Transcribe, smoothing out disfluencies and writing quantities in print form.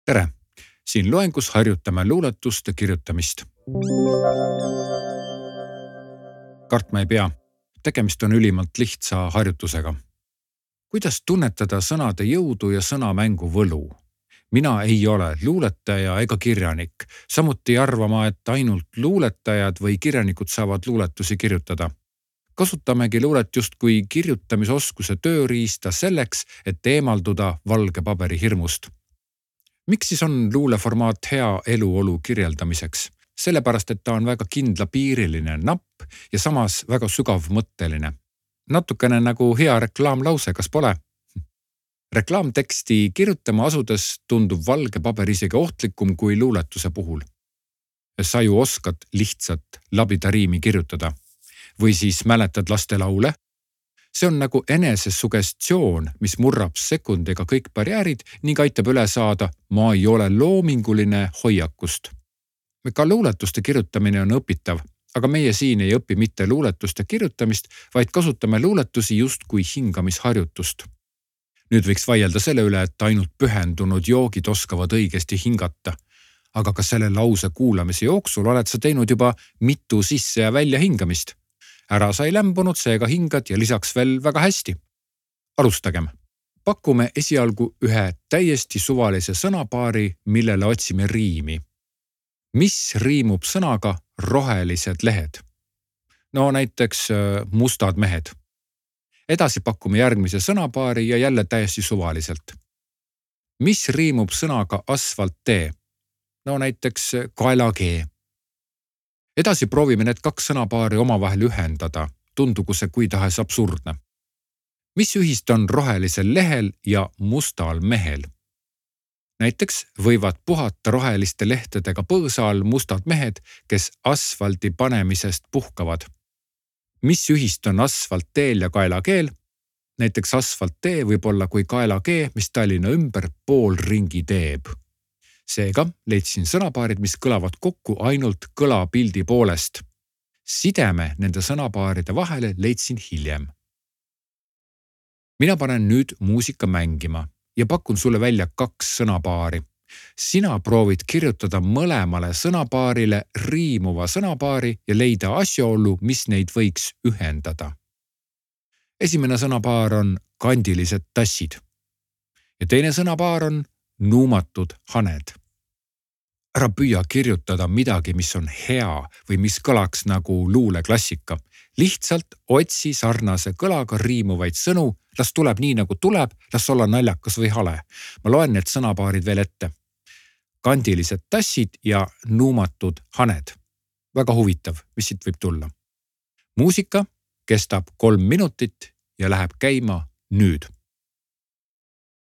Tere! Siin loengus harjutame luuletuste kirjutamist. Kartma ei pea. Tegemist on ülimalt lihtsa harjutusega. Kuidas tunnetada sõnade jõudu ja sõnamängu võlu? Mina ei ole luuletaja ega kirjanik. Samuti arvama, et ainult luuletajad või kirjanikud saavad luuletusi kirjutada. Kasutamegi luulet justkui kirjutamisoskuse tööriista selleks, et eemalduda valge paberi hirmust. Miks siis on luuleformaat hea eluolu kirjeldamiseks? Sellepärast, et ta on väga kindlapiiriline, napp ja samas väga sügavmõtteline. Natukene nagu hea reklaamlause, kas pole? Reklaamteksti kirjutama asudes tundub valge paber isegi ohtlikum kui luuletuse puhul. Sa ju oskad lihtsalt labida riimi kirjutada. Või siis mäletad lastelaule? See on nagu enesesugestioon, mis murrab sekundiga kõik barjäärid ning aitab üle saada ma ei ole loominguline hoiakust. Ka luuletuste kirjutamine on õpitav, aga meie siin ei õpi mitte luuletuste kirjutamist, vaid kasutame luuletusi justkui hingamisharjutust. Nüüd võiks vaielda selle üle, et ainult pühendunud joogid oskavad õigesti hingata. Aga ka selle lause kuulamise jooksul oled sa teinud juba mitu sisse- ja välja hingamist. Ära sai lämbunud, seega hingad ja lisaks veel väga hästi. Alustagem. Pakume esialgu ühe täiesti suvalise sõnapaari, millele otsime riimi. Mis riimub sõnaga rohelised lehed? No näiteks mustad mehed. Edasi pakume järgmise sõnapaari ja jälle täiesti suvaliselt. Mis riimub sõnaga asfalttee? No näiteks kaelakee. Edasi proovime need kaks sõnapaari omavahel ühendada, tundugu see kui tahes absurdne. Mis ühist on rohelisel lehel ja mustal mehel? Näiteks võivad puhata roheliste lehtedega põõsa all mustad mehed, kes asfaldi panemisest puhkavad. Mis ühist on asfaltteel ja kaelakeel? Näiteks asfalttee võib olla kui kaelakee, mis Tallinna ümber pool ringi teeb. Seega leidsin sõnapaarid, mis kõlavad kokku ainult kõlapildi poolest. Sideme nende sõnapaaride vahele leidsin hiljem. Mina panen nüüd muusika mängima ja pakun sulle välja kaks sõnapaari. Sina proovid kirjutada mõlemale sõnapaarile riimuva sõnapaari ja leida asjaolu, mis neid võiks ühendada. Esimene sõnapaar on kandilised tassid ja teine sõnapaar on nuumatud haned. Ära püüa kirjutada midagi, mis on hea või mis kõlaks nagu luuleklassika. Lihtsalt otsi sarnase kõlaga riimuvaid sõnu, las tuleb nii nagu tuleb, las olla naljakas või hale. Ma loen need sõnapaarid veel ette. Kandilised tassid ja nuumatud haned. Väga huvitav, mis siit võib tulla. Muusika kestab 3 minutit ja läheb käima nüüd.